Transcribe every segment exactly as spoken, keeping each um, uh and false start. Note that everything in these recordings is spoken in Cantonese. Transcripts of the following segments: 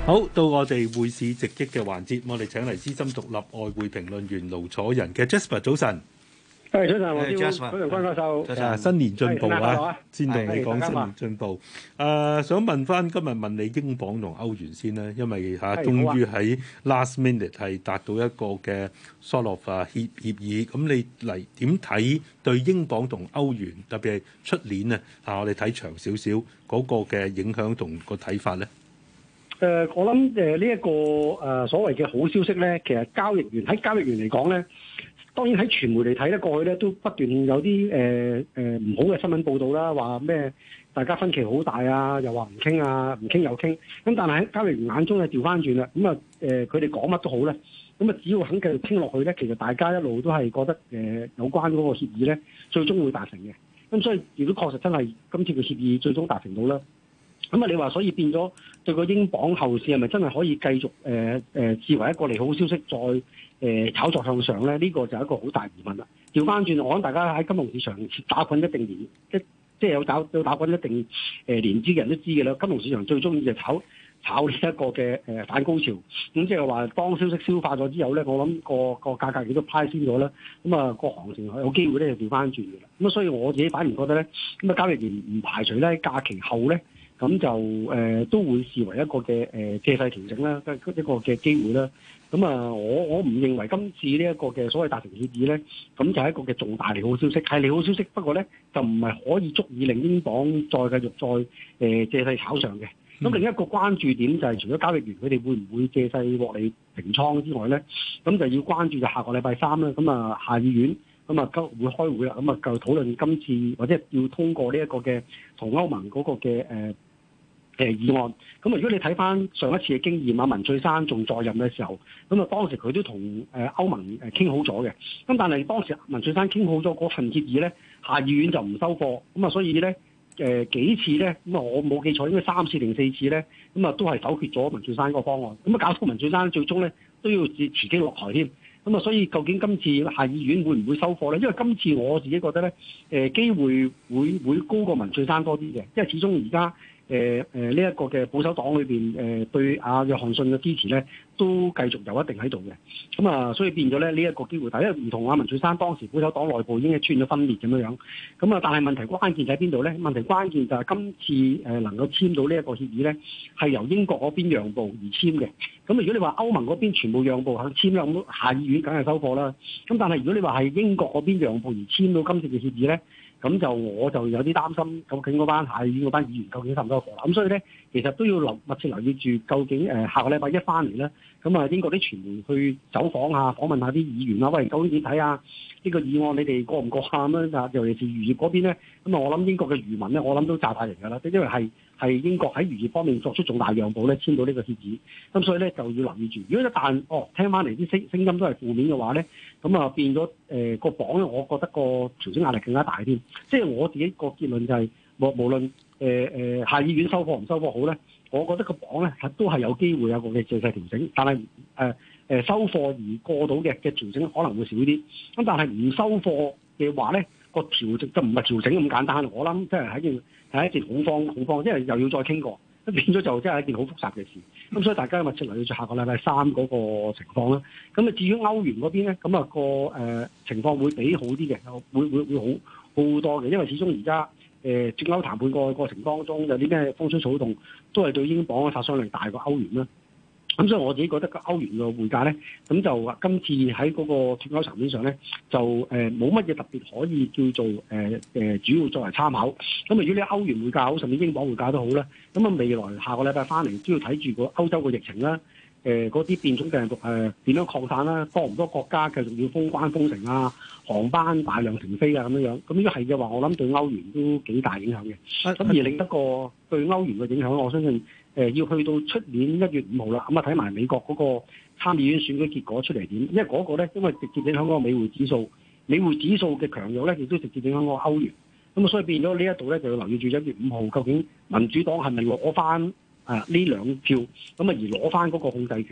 好，到我哋匯市直擊嘅環節，我哋請嚟資深獨立外匯評論員盧楚仁嘅 Jasper 早晨。 係早晨，黃師傅， Hey, 早晨，關教授。 誒、啊，新年進步啊！先同你講新係年進步。誒、啊，想問翻今日問你英鎊同歐元先啦，因為嚇、啊、終於喺 last minute 係達到一個嘅 sort of 啊協協議。咁你嚟點睇對英鎊同歐元，特別係出年啊嚇，我哋睇長少少嗰個嘅影響同個睇法咧？ 誒、呃，我諗誒呢一個誒、呃、所謂嘅好消息咧，其實交易員喺交易員嚟講咧。當然喺傳媒嚟睇咧，過去咧都不斷有啲誒誒唔好嘅新聞報導啦，話咩大家分歧好大啊，又話唔傾啊，唔傾又傾。咁但係喺交易員眼中咧調翻轉啦，咁啊誒佢哋講乜都好咧，咁啊只要肯繼續傾落去咧，其實大家一路都係覺得誒、呃、有關嗰個協議咧，最終會達成嘅。咁所以如果確實真係今次嘅協議最終達成到啦，咁啊你話所以變咗對個英鎊後市係咪真係可以繼續誒誒、呃呃、視為一個利好消息再？誒炒作向上咧，呢、這個就係一個好大疑問啦。調翻轉，我諗大家喺金融市場打滾一定年，即即係有打有打滾一定誒年資嘅人都知嘅啦。金融市場最中意就炒炒呢一個嘅誒反高潮，咁即係話當消息消化咗之後咧，我諗個個價格亦都派先咗啦。咁啊個行情有機會咧就調翻轉嘅啦。咁啊所以我自己反而覺得咧，咁啊交易員唔排除咧假期後咧。咁就誒、呃、都會視為一個嘅誒、呃、借勢調整啦，一個嘅機會啦。咁啊，我我唔認為今次呢一個嘅所謂達成協議咧，咁就係一個嘅重大利好消息，係利好消息。不過咧，就唔係可以足以令英鎊再繼續再誒、呃、借勢炒上嘅。咁另一個關注點就係除咗交易員佢哋會唔會借勢獲利平倉之外咧，咁就要關注就下個禮拜三啦。咁啊，下議院咁啊，今會開會啦。咁啊，就討論今次或者要通過呢一個嘅同歐盟嗰個嘅誒。呃誒議案，咁啊如果你睇翻上一次嘅經驗啊，文翠珊仲在任嘅時候，咁啊當時佢都同誒歐盟誒傾好咗嘅，咁但係當時文翠珊傾好咗嗰份協議咧，下議院就唔收貨，咁啊所以咧誒幾次咧，咁啊我冇記錯應該三次定四次咧，咁啊都係否決咗文翠珊嗰個方案，咁啊搞到文翠珊最終咧都要辭辭職落台添，咁啊所以究竟今次下議院會唔會收貨咧？因為今次我自己覺得咧，誒機會會會高過文翠珊多啲嘅，因為始終而家。誒誒呢一個嘅保守黨裏邊誒對阿約翰遜嘅支持咧，都繼續有一定喺度嘅。咁啊，所以變咗咧呢一個機會，但係因為唔同阿文翠珊當時保守黨內部已經係出現咗分裂咁樣樣。咁啊，但係問題關鍵就喺邊度咧？問題關鍵就係今次誒能夠簽到呢一個協議咧，係由英國嗰邊讓步而簽嘅。咁如果你話歐盟嗰邊全部讓步肯簽啦，咁下議院梗係收貨啦。咁但係如果你話係英國嗰邊讓步而簽到今次嘅協議咧？咁就我就有啲擔心，究竟嗰班下議院嗰班議員究竟收唔收貨啦？咁所以咧，其實都要留密切留意住，究竟誒、呃、下個禮拜一翻嚟咧，咁啊英國啲傳媒去走訪下、訪問下啲議員啊，喂，究竟點睇啊？呢、這個議案你哋過唔過啊？咁樣啊，尤其是漁業嗰邊咧，咁啊我諗英國嘅漁民咧，我諗都炸大型㗎啦，因為係係英國喺漁業方面作出重大讓步咧，簽到呢個協議，咁所以咧就要留意住。如果一旦哦聽翻嚟啲聲聲音都係負面嘅話咧，咁啊變咗誒個榜咧，我覺得個調整壓力更加大添。即係我自己個結論就係、是，無無論誒誒、呃、下議院收貨唔收貨好咧，我覺得個榜咧都係有機會有個嘅借勢調整，但係誒誒收貨而過到嘅嘅調整可能會少啲。咁但係唔收貨嘅話咧，個調整就唔係調整咁簡單。我諗即係係一件係一件恐慌恐慌，因為又要再傾過，咁變咗就真係一件好複雜嘅事。咁所以大家密切留意住下個禮拜三嗰個情況啦。咁啊至於歐元嗰邊咧，咁、那、啊個誒、呃、情況會比好啲嘅，會會會好好多嘅，因為始終而家誒脫歐談判個過程當中有啲咩風吹草動，都係對英鎊嘅殺傷力大過歐元啦。咁所以我自己覺得個歐元嘅匯價咧，咁就今次喺嗰個脫歐層面上咧，就誒冇乜嘢特別可以叫做誒誒、呃、主要作為參考。咁啊，如果你歐元匯價好，甚至英鎊匯價都好啦，咁啊未來下個禮拜翻嚟都要睇住個歐洲嘅疫情啦，誒嗰啲變種病毒誒點樣擴散啦，多唔多國家繼續要封關封城啊，航班大量停飛啊咁樣樣。咁如果係嘅話，我諗對歐元都幾大影響嘅。咁、啊、而另一個對歐元嘅影響，我相信。誒、呃、要去到出年一月五號啦，咁啊睇埋美國嗰個參議院選舉結果出嚟點，因為嗰個咧，因為直接影響嗰個美匯指數，美匯指數嘅強弱咧，亦都直接影響嗰個歐元，咁啊所以變咗呢一度咧就要留意住一月五號究竟民主黨係咪攞翻啊呢兩票，咁啊而攞翻嗰個控制權，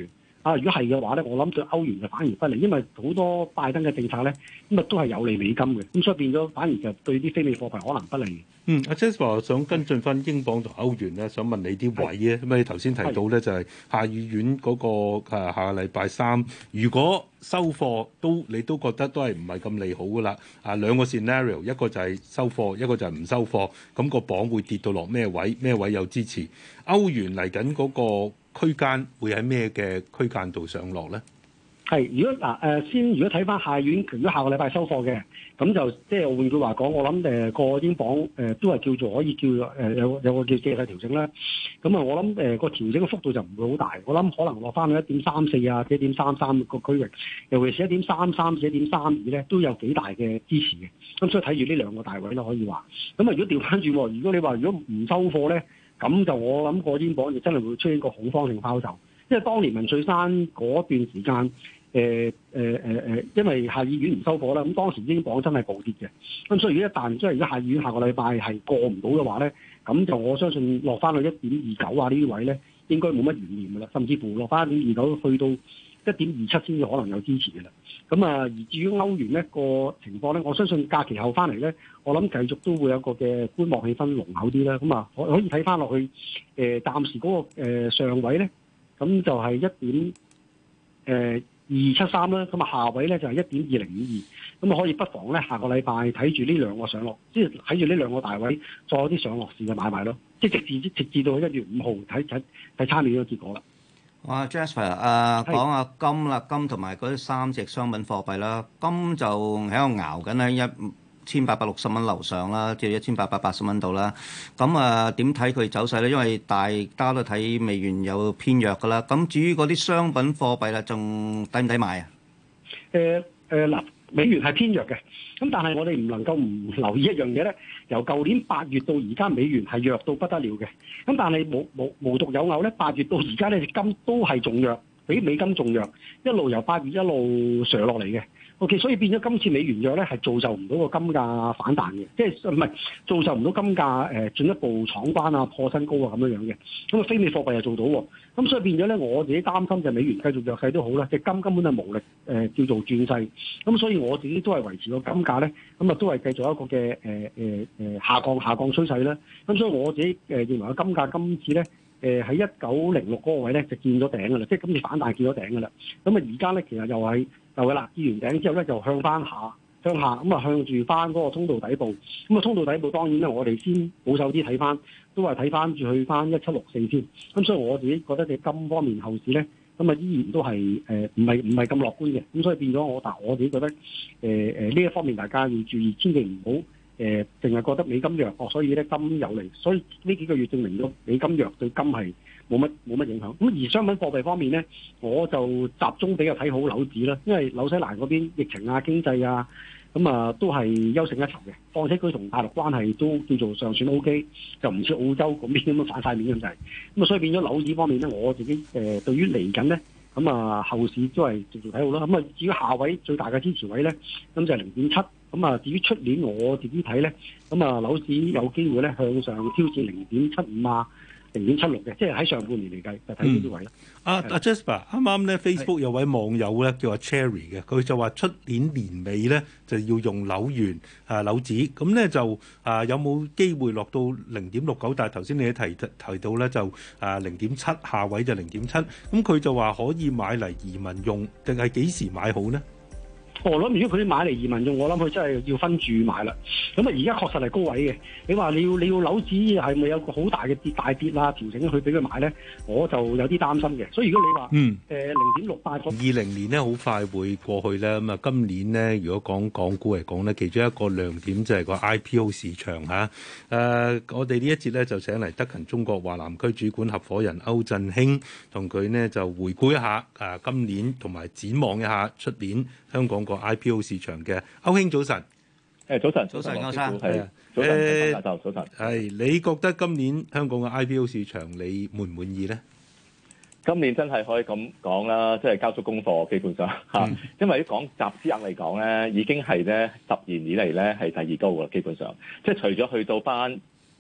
啊，如果係嘅話咧，我諗對歐元就反而不利，因為好多拜登嘅政策咧，咁啊都係有利美金嘅，咁所以變咗反而就對啲非美貨幣可能不利。 嗯，阿 Jasper 想跟進翻英鎊同歐元咧，想問你啲位啊，咁你頭先提到咧就係下議院嗰個誒下個禮拜三，如果收貨都你都覺得都係唔係咁利好噶啦？啊兩個 scenario，一個就係收貨，一個就係唔收貨，咁個鎊會跌到落咩位？咩位有支持？歐元嚟緊嗰個區間會喺咩嘅區間度上落咧？ 係，如果嗱誒、呃、先，如果睇翻下院，如果下個禮拜收貨嘅，咁就即係換句話講，我諗誒個英鎊誒、呃、都係叫做可以叫誒、呃、有有個叫借勢調整啦。咁啊，我諗誒個調整嘅幅度就唔會好大，我諗可能落翻去一點三四啊，一點三三個區域，尤其是一點三三至一點三二咧，都有幾大嘅支持嘅。咁所以睇住呢兩個大位啦，可以話。咁啊，如果調翻轉，如果你話如果唔收貨咧，咁就我諗個英鎊就真係會出現個恐慌性拋售，因為當年文翠珊嗰段時間。誒誒誒誒，因為下議院唔收貨啦，咁當時英鎊真係暴跌嘅，咁所以如果一旦即係如果下議院下個禮拜係過唔到嘅話咧，咁就我相信落翻去一點二九啊呢啲位咧，應該冇乜懸念㗎啦，甚至乎落翻一點二九去到一點二七先至可能有支持嘅啦。咁啊，而至於歐元呢個情況咧，我相信假期後翻嚟咧，我諗繼續都會有個嘅觀望氣氛濃厚啲啦。咁啊，可可以睇翻落去誒，暫時嗰個誒上位咧，咁就係一點誒。二七三啦，咁啊下位咧就係一點二零五二，咁啊可以不妨咧下個禮拜睇住呢兩個上落，即係睇住呢兩個大位，再有啲上落市嘅買賣咯，即係直至直至到一月五號睇睇睇參與個結果啦。 哇 Jasper 誒講下金啦，金同埋嗰啲三隻商品貨幣啦，金就喺度熬緊啦，一千八百六十蚊樓上啦，即係一千八百八十蚊度啦。咁啊，點睇佢走勢咧？因為大家都睇美元有偏弱噶啦。咁至於嗰啲商品貨幣啦，仲抵唔抵買啊？ 誒誒嗱，美元係偏弱嘅。咁但係我哋唔能夠唔留意一樣嘢咧。由舊年八月到而家，美元係弱到不得了嘅。咁但係無無無獨有偶咧，八月到而家咧，金都係仲弱，比美金仲弱，一路由八月一路上落嚟嘅。O.K. 所以變咗今次美元弱咧，係造就唔到個金價反彈嘅，即係唔係造就唔到金價誒、呃、進一步闖關啊、破新高啊咁樣樣嘅。咁啊，非美貨幣又做到喎。咁所以變咗咧，我自己擔心就美元繼續弱勢都好啦，隻金根本係無力誒、呃、叫做轉勢。咁所以我自己都係維持個金價咧，咁啊都係繼續一個嘅誒誒誒下降下降趨勢啦。咁所以我自己誒、呃、認為個金價今次咧誒喺一九零六嗰個位咧就見咗頂㗎啦，即係今次反彈見咗頂㗎啦。咁啊而家咧其實又係。就嘅啦，見完頂之後咧，就向翻下，向下咁啊，向住翻嗰個通道底部。咁啊，通道底部當然咧，我哋先保守啲睇翻，都係睇翻住去翻一七六四先。咁所以我自己覺得你金方面後市咧，咁啊依然都係誒唔係唔係咁樂觀嘅。咁所以變咗我，但我自己覺得誒誒呢一方面大家要注意，千祈唔好誒淨係覺得美金弱，哦，所以咧金有利。所以呢幾個月證明咗美金弱對金係冇乜冇乜影響，咁而商品貨幣方面咧，我就集中比較睇好樓指啦，因為紐西蘭嗰邊疫情啊、經濟啊，咁啊都係優勝一籌嘅。況且佢同大陸關係都叫做尚算 O K，就唔似澳洲嗰邊咁樣反晒面咁滯。咁啊，所以變咗樓指方面咧，我自己誒、呃、對於嚟緊咧，咁啊後市都係繼續睇好啦。咁啊至於下位最大嘅支持位咧，咁就係零點七。咁啊至於出年我自己睇咧，咁啊樓指有機會咧向上挑戰零點七五啊。零點七六嘅，即係喺上半年嚟計，就睇呢啲位啦。 阿阿 Jasper 啱啱咧 Facebook 有位網友咧叫阿 Cherry 嘅，佢就話出年年尾咧就要用紐元啊紐紙，咁咧就啊有冇機會落到零點六九？但係頭先你提提到咧就啊零點七，下位就零點七，咁佢就話可以買嚟移民用，定係幾時買好呢？ 我諗如果佢啲買嚟移民用，我諗佢真係要分住買啦。咁啊，而家確實係高位嘅。你話你要你要樓指係咪有個好大嘅跌大跌啦？調整去俾佢買咧，我就有啲擔心嘅。所以如果你話嗯誒零點六八，二零年咧好快會過去咧。咁啊，今年咧如果講港股嚟講咧，其中一個亮點就係個 I P O 市場嚇。誒、啊，我哋呢一節咧就請嚟德勤中國華南區主管合夥人歐振興，同佢呢就回顧一下誒今年同埋展望一下出年香港個 I P O 市場嘅。歐兄早晨。 誒早晨， 早晨歐生， 係啊，早晨，大家早晨。 係你覺得今年香港嘅 I P O 市場你滿唔滿意咧？ 今年真係可以咁講啦，即係交足功課，基本上嚇。嗯、因為講集資額嚟講咧，已經係咧十年以嚟咧係第二高㗎啦，基本上。即係除咗去到班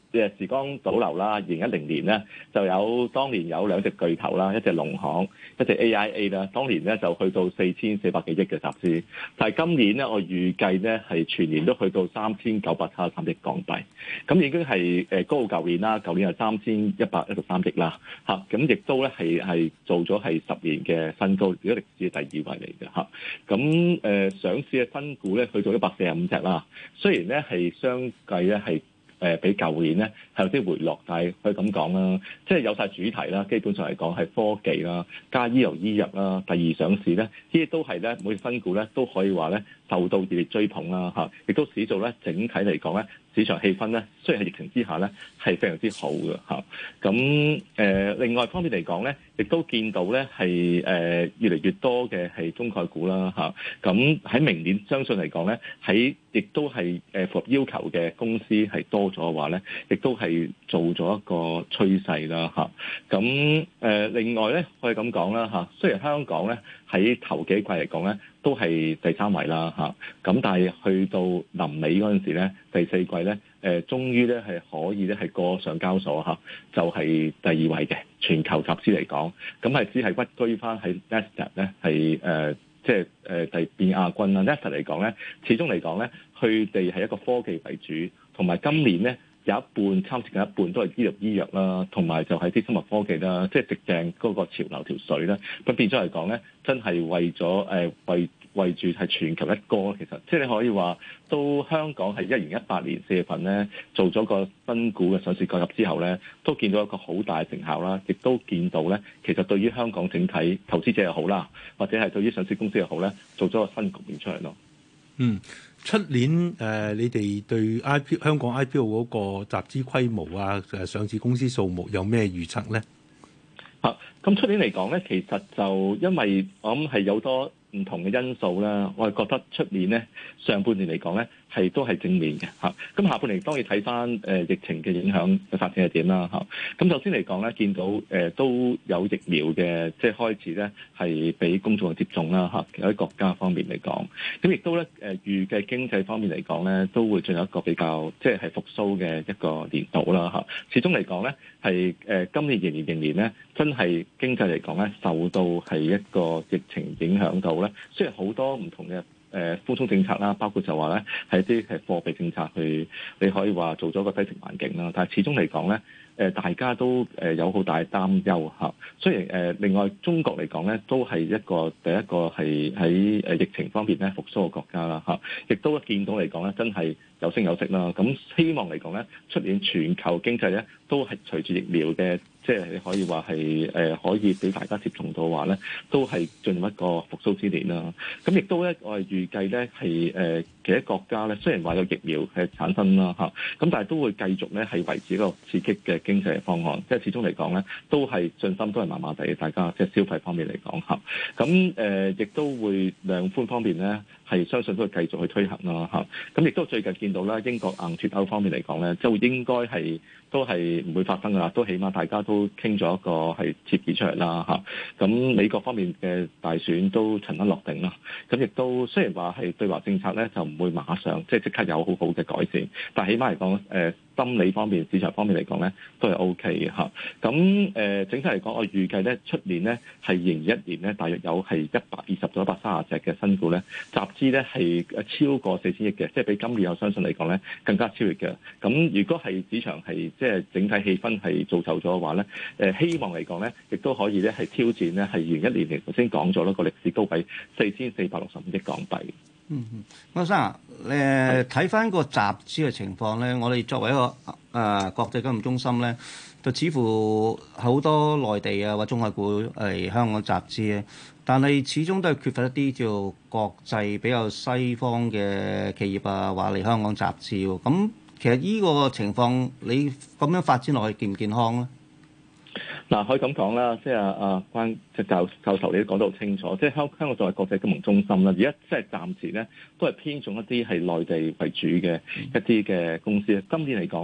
誒時光倒流啦，二零一零年咧就有當年有兩隻巨頭啦，一隻農行，一隻 A I A 啦，當年咧就去到四千四百幾億嘅集資，但係今年咧我預計咧係全年都去到三千九百七十三億港幣，咁已經係誒高過舊年啦，舊年係三千一百一十三億啦，嚇，咁亦都咧係係做咗係十年嘅新高，如果歷史嘅第二位嚟嘅嚇，咁誒、呃、上市嘅新股咧去到一百四十五隻啦，雖然咧係相繼咧係。誒、呃、比舊年咧係有啲回落，但係可以咁講啦，即係有晒主題啦。基本上嚟講係科技啦，加醫療醫藥啦，第二上市咧，呢啲都係咧每隻新股咧都可以話咧受到熱烈追捧啦嚇，亦都使到咧整體嚟講咧市場氣氛咧雖然係疫情之下咧係非常之好嘅嚇。咁誒、呃、另外方面嚟講咧，亦都見到咧係誒越嚟越多嘅係中概股啦嚇。咁喺明年相信嚟講咧喺亦都係誒符合要求嘅公司係多咗嘅話咧，亦都係做咗一個趨勢啦嚇。咁誒、呃、另外咧可以咁講啦嚇，雖然香港咧喺頭幾季嚟講咧都係第三位啦嚇，咁但係去到臨尾嗰陣時咧，第四季咧誒、呃、終於咧係可以咧係過上交所嚇，就係、是、第二位嘅全球集資嚟講，咁係只係屈居翻喺 Nasdaq 咧係誒。即係誒第變亞軍啦 Nasdaq 嚟講咧，始終嚟講咧，佢哋係一個科技為主，同埋今年咧有一半，差唔多一半都係醫療醫藥啦，同埋就係啲生物科技啦，即係直正嗰個潮流條水啦。咁變咗嚟講咧，真係為咗誒、呃、為為住係全球一哥，其實即係你可以話，到香港係一零一八年四月份咧做咗個新股嘅上市購入之後咧，都見到一個好大嘅成效啦，亦都見到咧，其實對於香港整體投資者又好啦，或者係對於上市公司又好咧，做咗個新局面出嚟咯。 嗯，出年誒、呃，你哋對 I P 香港 I P O 嗰個集資規模啊，誒上市公司數目有咩預測咧？ 嚇、啊，咁出年嚟講咧，其實就因為我諗係有多唔同嘅因素啦，我係覺得出年咧上半年嚟講咧係都係正面嘅嚇。咁、啊、下半年當然睇翻誒疫情嘅影響嘅發展係點啦嚇。咁、啊、首先嚟講咧，見到誒、呃、都有疫苗嘅即係開始咧係俾公眾嘅接種啦嚇。喺、啊、國家方面嚟講，咁亦都咧誒預計經濟方面嚟講咧都會進入一個比較即係係復甦嘅一個年度啦嚇、啊。始終嚟講咧係誒今年仍然仍然咧真係經濟嚟講咧受到係一個疫情影響到。雖然好多唔同嘅誒寬鬆政策啦，包括就話咧係一啲係貨幣政策去，你可以話做咗個低息環境啦，但係始終嚟講咧。誒大家都誒有好大擔憂嚇，雖然誒另外中國嚟講咧，都係一個第一個係喺誒疫情方面咧復甦嘅國家啦嚇，亦都見到嚟講咧真係有升有息啦。咁希望嚟講咧，出年全球經濟咧都係隨住疫苗嘅，即係你可以話係誒可以俾大家接種到嘅話咧，都係進入一個復甦之年啦。咁亦都咧，我係預計咧係誒其他國家咧，雖然話有疫苗係產生啦嚇，咁但係都會繼續咧係維持一個刺激嘅經濟方案，即係始終嚟講咧，都係信心都係麻麻地，大家即係消費方面嚟講嚇。咁誒亦都會量寬方面咧，係相信都會繼續去推行啦嚇。咁亦都最近見到啦，英國硬脱歐方面嚟講咧，就應該係都係唔會發生噶啦，都起碼大家都傾咗一個係協議出嚟啦嚇。咁美國方面嘅大選都塵埃落定啦。咁亦都雖然話係對華政策咧就唔會馬上即係即刻有好好嘅改善，但係起碼嚟講誒。呃心理方面、市場方面嚟講咧，都係 O K 嘅嚇。咁誒、呃，整體嚟講，我預計咧出年咧係二零二一年咧，大約有係一百二十到一百三十隻嘅新股咧集資咧係超過四千億嘅，即係比今年我相信嚟講咧更加超越嘅。咁如果係市場係即係整體氣氛係造就咗嘅話咧，誒、呃、希望嚟講咧，亦都可以咧係挑戰咧係二零一年嚟頭先講咗一個歷史高位四千四百六十五億港幣。 嗯嗯，歐生啊，誒睇翻個集資嘅情況咧，我哋作為一個誒、呃、國際金融中心咧，就似乎好多內地啊或中概股嚟香港集資咧，但係始終都係缺乏一啲叫國際比較西方嘅企業啊，話嚟香港集資喎。咁其實呢個情況，你咁樣發展落去健唔健康咧？ 嗱，可以咁講啦，即係啊啊關即係教教授你都講得好清楚，即係香香港作為國際金融中心啦，而家即係暫時咧都係偏重一啲係內地為主嘅一啲嘅公司。今年嚟講咧，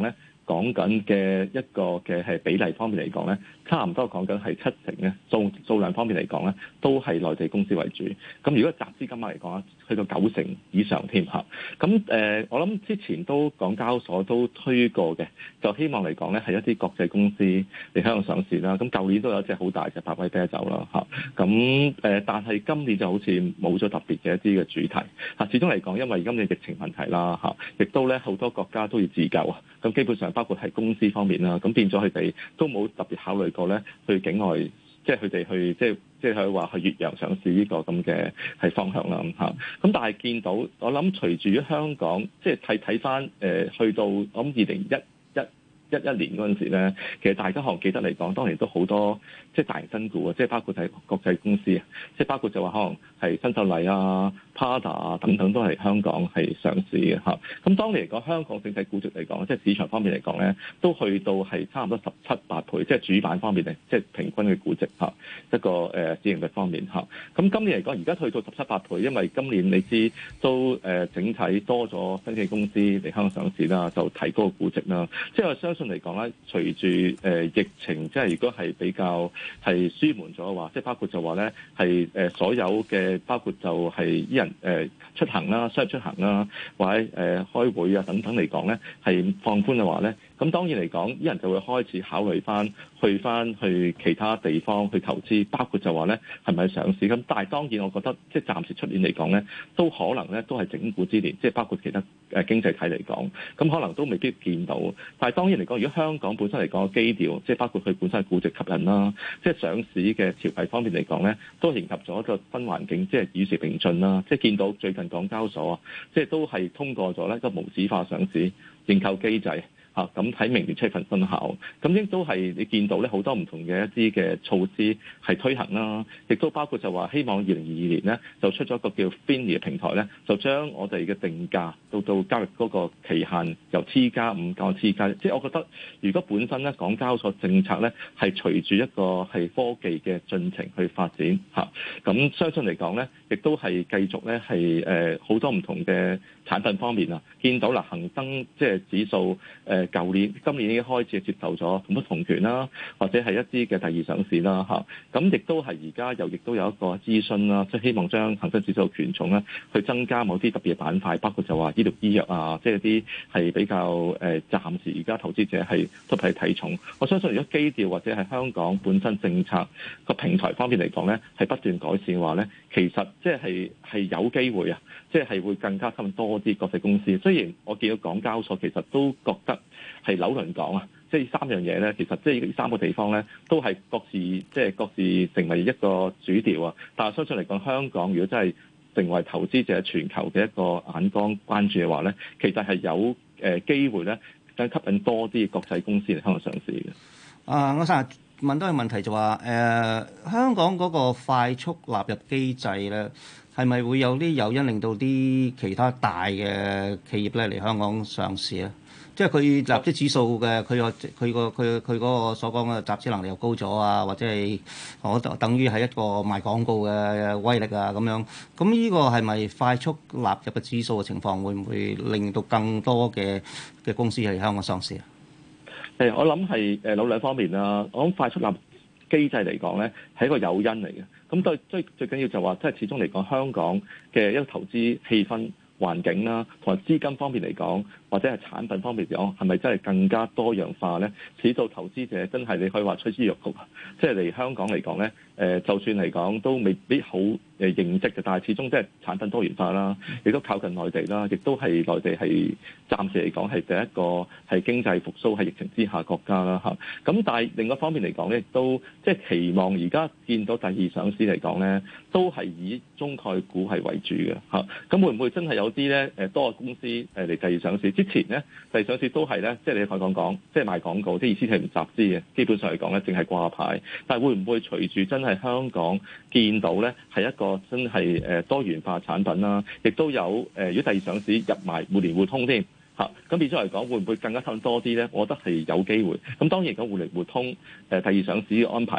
講緊嘅一個嘅係比例方面嚟講咧，差唔多講緊係七成咧，數數量方面嚟講咧，都係內地公司為主。咁如果集資金額嚟講咧，去到九成以上添嚇。咁誒、呃，我諗之前都港交所都推過嘅，就希望嚟講咧係一啲國際公司嚟香港上市啦。咁舊年都有一隻好大嘅百威啤酒啦嚇。咁誒、呃，但係今年就好似冇咗特別嘅一啲嘅主題嚇。始終嚟講，因為今年疫情問題啦嚇，亦都咧好多國家都要自救啊。咁基本上包括係公司方面啦，咁變咗佢哋都冇特別考慮過咧去境外，即係佢哋去即係即係佢話去越洋上市呢個咁嘅係方向啦咁嚇。咁但係見到我諗隨住香港即係睇睇翻誒去到我諗二零一一一一年嗰陣時咧，其實大家可能記得嚟講，當年都好多即係大型新股啊，即係包括係國際公司啊，即係包括就話可能係新秀麗啊、Prada 啊等等都係香港係上市嘅嚇。咁當年嚟講，香港整體估值嚟講，即係市場方面嚟講咧，都去到係差唔多十七八倍，即係主板方面嚟，即係平均嘅估值嚇一個誒市盈率方面嚇。咁今年嚟講，而家去到十七八倍，因為今年你知都誒整體多咗新嘅公司嚟香港上市啦，就提高個估值啦。即係我相信嚟講咧，隨住誒疫情，即係如果係比較係舒緩咗嘅話，即係包括就話咧係誒所有嘅包括就係啲人誒出行啦、商業出行啦，或者誒開會啊等等嚟講咧，係放寬嘅話咧，咁當然嚟講，啲人就會開始考慮翻去翻去其他地方去投資，包括就話咧係咪上市？咁但係當然，我覺得即係暫時出年嚟講咧，都可能咧都係整固之年，即係包括其他誒經濟體嚟講，咁可能都未必見到。但係當然嚟講，如果香港本身嚟講嘅基調，即係包括佢本身嘅估值吸引啦，即係上市嘅條例方面嚟講咧，都迎合咗一個新環境，即係與時並進啦。即係見到最近港交所啊，即係都係通過咗咧一個無紙化上市認購機制。嚇咁喺明年出份生效，咁亦都係你見到咧好多唔同嘅一啲嘅措施係推行啦，亦都包括就話希望二零二二年咧就出咗一個叫 F I N I 嘅平台咧，就將我哋嘅定價到到交易嗰個期限由 T 加五降到 T 加，即係我覺得如果本身咧港交所政策咧係隨住一個係科技嘅進程去發展嚇，咁相信嚟講咧，亦都係繼續咧係誒好多唔同嘅產品方面啊，見到啦恒生即係指數誒。舊年、今年已經開始接受咗同不同權啦，或者係一啲嘅第二上市啦嚇，咁亦都係而家又亦都有一個諮詢啦，即係希望將恒生指數權重咧去增加某啲特別嘅板塊，包括就話醫療醫藥啊，即係啲係比較誒、呃、暫時而家投資者係都係睇重。我相信如果基調或者係香港本身政策個平台方面嚟講咧，係不斷改善嘅話咧，其實即係係有機會啊，即係係會更加吸引多啲國際公司。雖然我見到港交所其實都覺得係紐倫港啊，即係三樣嘢咧，其實即係呢三個地方咧，都係各自即係各自成為一個主調啊。但係相信嚟講，香港如果真係成為投資者全球嘅一個眼光關注嘅話咧，其實係有誒機會咧，更吸引多啲國際公司嚟香港上市嘅。 啊，我成日問到個問題就話誒、呃，香港嗰個快速納入機制咧，係咪會有啲誘因令到啲其他大嘅企業咧嚟香港上市啊？即係佢集資指數嘅，佢個佢個佢佢嗰個所講嘅集資能力又高咗啊，或者係我等於係一個賣廣告嘅威力啊咁樣。咁呢個係咪快速納入嘅指數嘅情況，會唔會令到更多嘅嘅公司喺香港上市啊？ 誒，我諗係誒有兩方面啦。我諗快速納入機制嚟講咧，係一個誘因嚟嘅。咁對最最緊要就話，即係始終嚟講，香港嘅一個投資氣氛環境啦，同埋資金方面嚟講，或者係產品方面嚟講，係咪真係更加多樣化咧？使到投資者真係你可以話趨之若鶩，即係嚟香港嚟講咧，誒就算嚟講都未必好誒認識嘅，但係始終即係產品多元化啦，亦都靠近內地啦，亦都係內地係暫時嚟講係第一個係經濟復甦喺疫情之下國家啦嚇。咁但係另一方面嚟講咧，亦都即係期望而家見到第二上市嚟講咧，都係以中概股係為主嘅嚇。咁會唔會真係有啲咧誒多個公司誒嚟第二上市？之前咧第二上市都係咧，即係你可以講講，即係賣廣告，即係意思係唔集資嘅，基本上嚟講咧，淨係掛牌。但係會唔會隨住真係香港見到咧係一個真係誒多元化產品啦，亦都有誒如果第二上市入埋互聯互通添嚇，咁變咗嚟講會唔會更加吸引多啲咧？我覺得係有機會。咁當然講互聯互通誒第二上市嘅安排咧。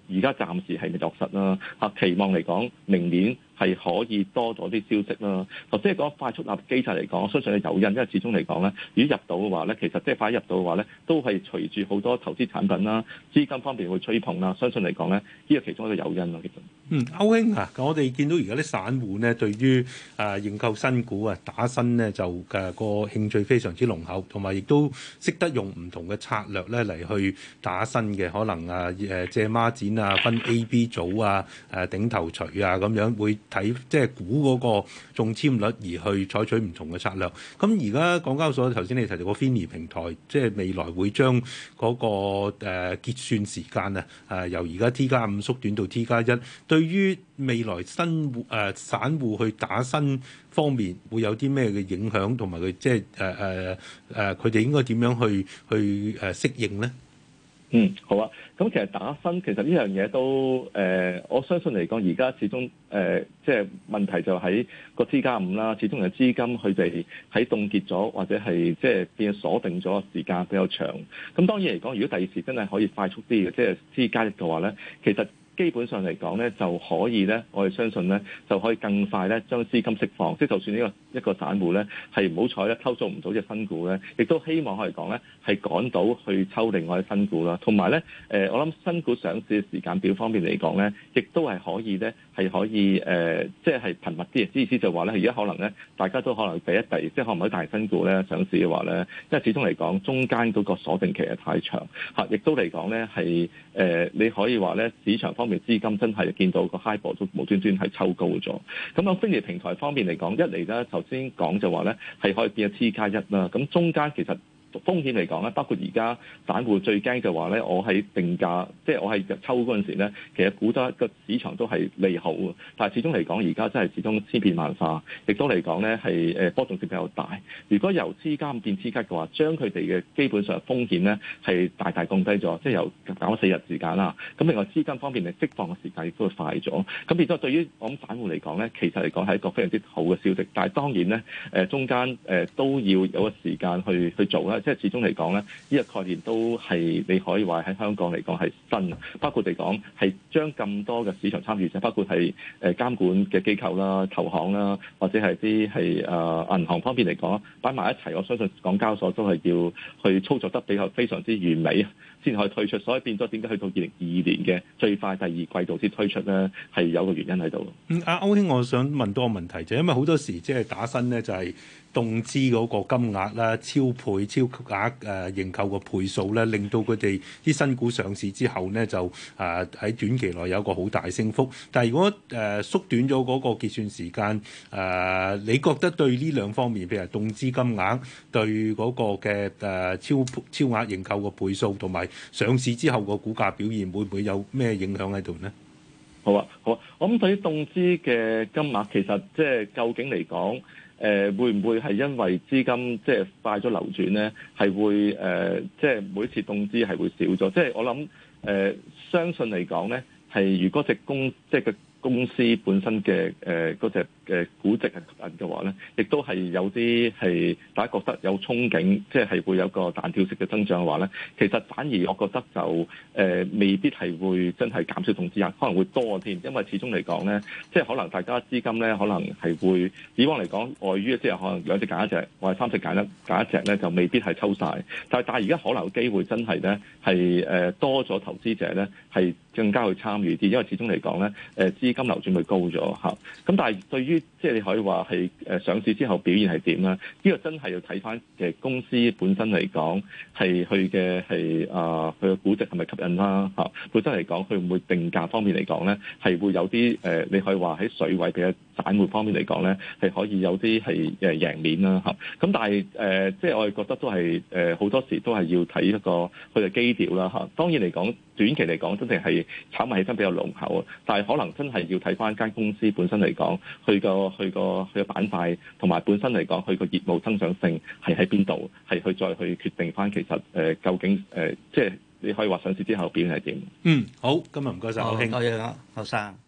而家暫時係未落實啦。嚇，期望嚟講，明年係可以多咗啲消息啦。頭先講快速納入機制嚟講，我相信係有因，因為始終嚟講咧，如果入到嘅話咧，其實即係快入到嘅話咧，都係隨住好多投資產品啦、資金方面會吹捧啦。相信嚟講咧，呢個其中一個誘因咯，其實。 嗯，歐兄啊，我哋見到而家啲散戶咧，對於啊認購新股啊打新咧，就嘅個興趣非常之濃厚，同埋亦都識得用唔同嘅策略咧嚟去打新嘅，可能啊誒借孖展啊，分 A、B 組啊，誒頂頭鎚啊咁樣，會睇即係估嗰個中籤率而去採取唔同嘅策略。咁而家港交所頭先你提到個 F I N I 平台，即係未來會將嗰個誒結算時間啊，誒由而家 T 加五縮短到 T 加一，對於未來新戶誒、呃、散戶去打新方面會有啲咩嘅影響，同埋佢即係誒誒誒佢哋應該點樣去去誒適應咧？ 嗯，好啊。咁其實打新其實呢樣嘢都誒、呃，我相信嚟講，而家始終誒、呃，即係問題就喺個 T 加五啦。始終有資金佢哋喺凍結咗，或者係即係變鎖定咗時間比較長。咁當然嚟講，如果第二時真係可以快速啲嘅，即係 T 加一嘅話咧，其實基本上嚟講咧，就可以咧，我哋相信咧，就可以更快咧將資金釋放。即係就算呢個一個散戶咧係唔好彩咧抽中唔到隻新股咧，亦都希望可以講咧係趕到去抽另外啲新股啦。同埋咧誒，我諗新股上市嘅時間表方面嚟講咧，亦都係可以咧係可以誒、呃，即係頻密啲。意思就話咧，而家可能咧大家都可能第一第，即係可能喺大新股咧上市嘅話咧，因為始終嚟講中間嗰個鎖定期係太長嚇，亦都嚟講咧係誒，你可以話咧市場方面資金真係見到個 HIBOR 都無端端係抽高咗。咁喺 F I N I 平台方面嚟講，一嚟咧頭先講就話咧係可以變咗 T 加一啦。咁中間其實風險嚟講咧，包括而家散戶最驚就話咧，我喺定價，即係我係抽嗰陣時咧，其實估得個市場都係利好嘅。但係始終嚟講，而家真係始終千變萬化，亦都嚟講咧係誒波動性比較大。如果由 T 加變 T 加嘅話，將佢哋嘅基本上風險咧係大大降低咗，即係由減咗四日時間啦。咁另外資金方面嚟釋放嘅時間亦都會快咗。咁變咗對於我諗散戶嚟講咧，其實嚟講係一個非常之好嘅消息。但係當然咧誒中間誒都要有個時間去去做啦。即係始終嚟講咧，呢、這個概念都係你可以話喺香港嚟講係新，包括嚟講係將咁多嘅市場參與者，包括係誒監管嘅機構啦、投行啦，或者係啲係誒銀行方面嚟講擺埋一齊，我相信港交所都係要去操作得比較非常之完美，先可以推出。所以變咗點解去到二零二二年嘅最快第二季度先推出咧，係有個原因喺度。 嗯，阿歐兄，我想問多個問題，就因為好多時即係打新咧，就係、是。動資嗰個金額啦，超倍、超額誒認購個倍數咧，令到佢哋啲新股上市之後咧，就誒喺短期內有一個好大升幅。但係如果誒、呃、縮短咗嗰個結算時間，誒、呃、你覺得對呢兩方面，譬如動資金額對嗰個嘅誒、呃、超超額認購個倍數，同埋上市之後個股價表現，會唔會有咩影響喺度呢？ 好啊，好啊，我諗對於動資嘅金額，其實即係究竟嚟講。誒、呃、會唔會係因為資金即係快咗流轉咧？係會誒、呃、即係每次動資係會少咗。即係我諗誒、呃，相信嚟講咧，係如果隻公即係個公司本身嘅誒嗰隻嘅估值係吸引嘅話咧，亦都係有啲係大家覺得有憧憬，即係係會有個彈跳式嘅增長嘅話咧，其實反而我覺得就誒、呃、未必係會真係減少動資額，可能會多添，因為始終嚟講咧，即係可能大家資金咧，可能係會以往嚟講，礙於即係可能兩隻揀一隻，或者三隻揀一揀一隻咧，就未必係抽晒。但係但係而家可能有機會真係咧係誒多咗投資者咧係更加去參與啲，因為始終嚟講咧誒資金流轉會高咗嚇。咁但係對於即係你可以話係誒上市之後表現係點啦？呢個真係要睇翻嘅公司本身嚟講係佢嘅係啊佢嘅估值係咪吸引啦嚇？本身嚟講佢會唔會定價方面嚟講咧係會有啲誒你可以話喺水位嘅散戶方面嚟講咧係可以有啲係誒贏面啦嚇。咁但係誒即係我哋覺得都係誒好多時都係要睇一個佢嘅基調啦嚇。當然嚟講短期嚟講真係係炒賣氣氛比較濃厚啊，但係可能真係要睇翻間公司本身嚟講佢個。佢個佢個板塊同埋本身嚟講，佢個業務增長性係喺邊度？係去再去決定翻，其實誒、呃、究竟誒、呃，即係你可以話上市之後表現係點？ 嗯，好，今日唔該晒，歐兄， 多謝啊，後生。